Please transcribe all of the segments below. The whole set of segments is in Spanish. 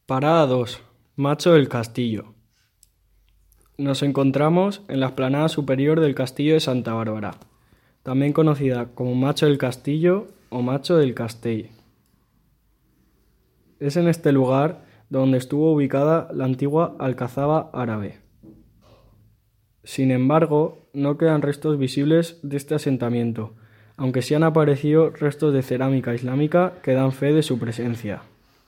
Parada 2. Macho del Castillo. Nos encontramos en la explanada superior del Castillo de Santa Bárbara, también conocida como Macho del Castillo o Macho del Castell. Es en este lugar donde estuvo ubicada la antigua alcazaba árabe. Sin embargo, no quedan restos visibles de este asentamiento, aunque sí han aparecido restos de cerámica islámica que dan fe de su presencia.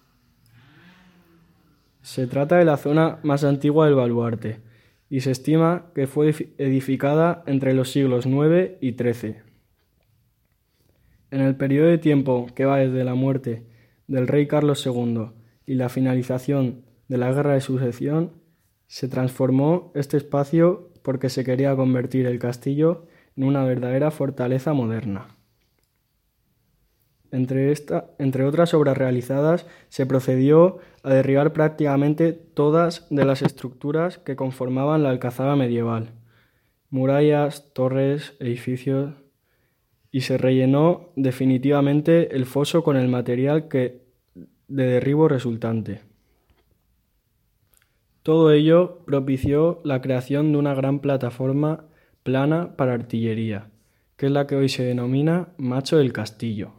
Se trata de la zona más antigua del baluarte y se estima que fue edificada entre los siglos IX y XIII. En el periodo de tiempo que va desde la muerte del rey Carlos II y la finalización de la Guerra de Sucesión, se transformó este espacio porque se quería convertir el castillo en una verdadera fortaleza moderna. Entre otras obras realizadas, se procedió a derribar prácticamente todas de las estructuras que conformaban la alcazaba medieval, murallas, torres, edificios, y se rellenó definitivamente el foso con el material de derribo resultante. Todo ello propició la creación de una gran plataforma plana para artillería, que es la que hoy se denomina Macho del Castillo.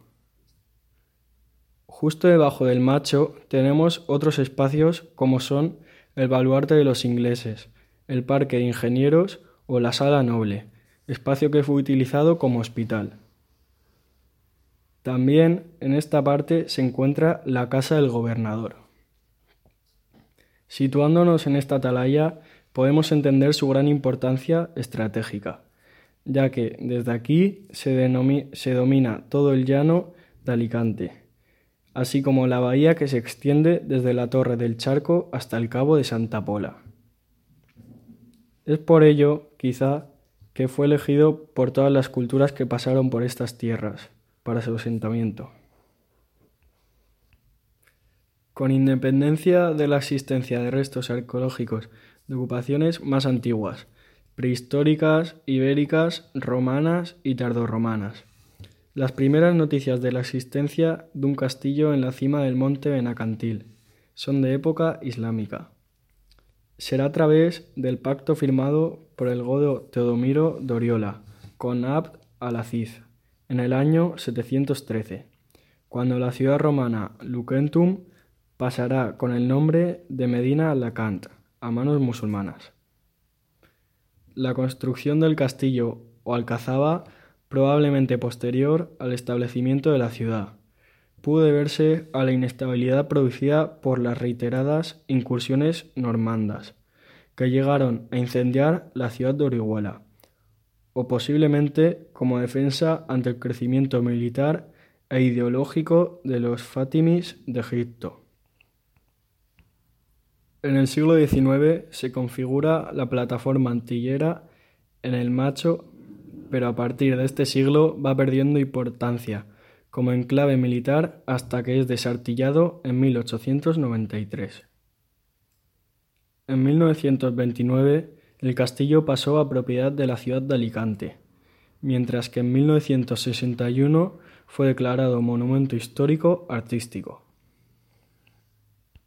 Justo debajo del Macho tenemos otros espacios como son el Baluarte de los Ingleses, el Parque de Ingenieros o la Sala Noble, espacio que fue utilizado como hospital. También en esta parte se encuentra la Casa del Gobernador. Situándonos en esta atalaya podemos entender su gran importancia estratégica, ya que desde aquí se domina todo el llano de Alicante, así como la bahía que se extiende desde la Torre del Charco hasta el Cabo de Santa Pola. Es por ello, quizá, que fue elegido por todas las culturas que pasaron por estas tierras para su asentamiento. Con independencia de la existencia de restos arqueológicos de ocupaciones más antiguas, prehistóricas, ibéricas, romanas y tardorromanas. Las primeras noticias de la existencia de un castillo en la cima del monte Benacantil son de época islámica. Será a través del pacto firmado por el godo Teodomiro de Oriola con Abd al-Aziz en el año 713, cuando la ciudad romana Lucentum pasará con el nombre de Medina al-Lacant a manos musulmanas. La construcción del castillo o alcazaba, probablemente posterior al establecimiento de la ciudad, pudo deberse a la inestabilidad producida por las reiteradas incursiones normandas, que llegaron a incendiar la ciudad de Orihuela, o posiblemente como defensa ante el crecimiento militar e ideológico de los fátimis de Egipto. En el siglo XIX se configura la plataforma antillera en el Macho, pero a partir de este siglo va perdiendo importancia como enclave militar hasta que es desartillado en 1893. En 1929 el castillo pasó a propiedad de la ciudad de Alicante, mientras que en 1961 fue declarado monumento histórico artístico.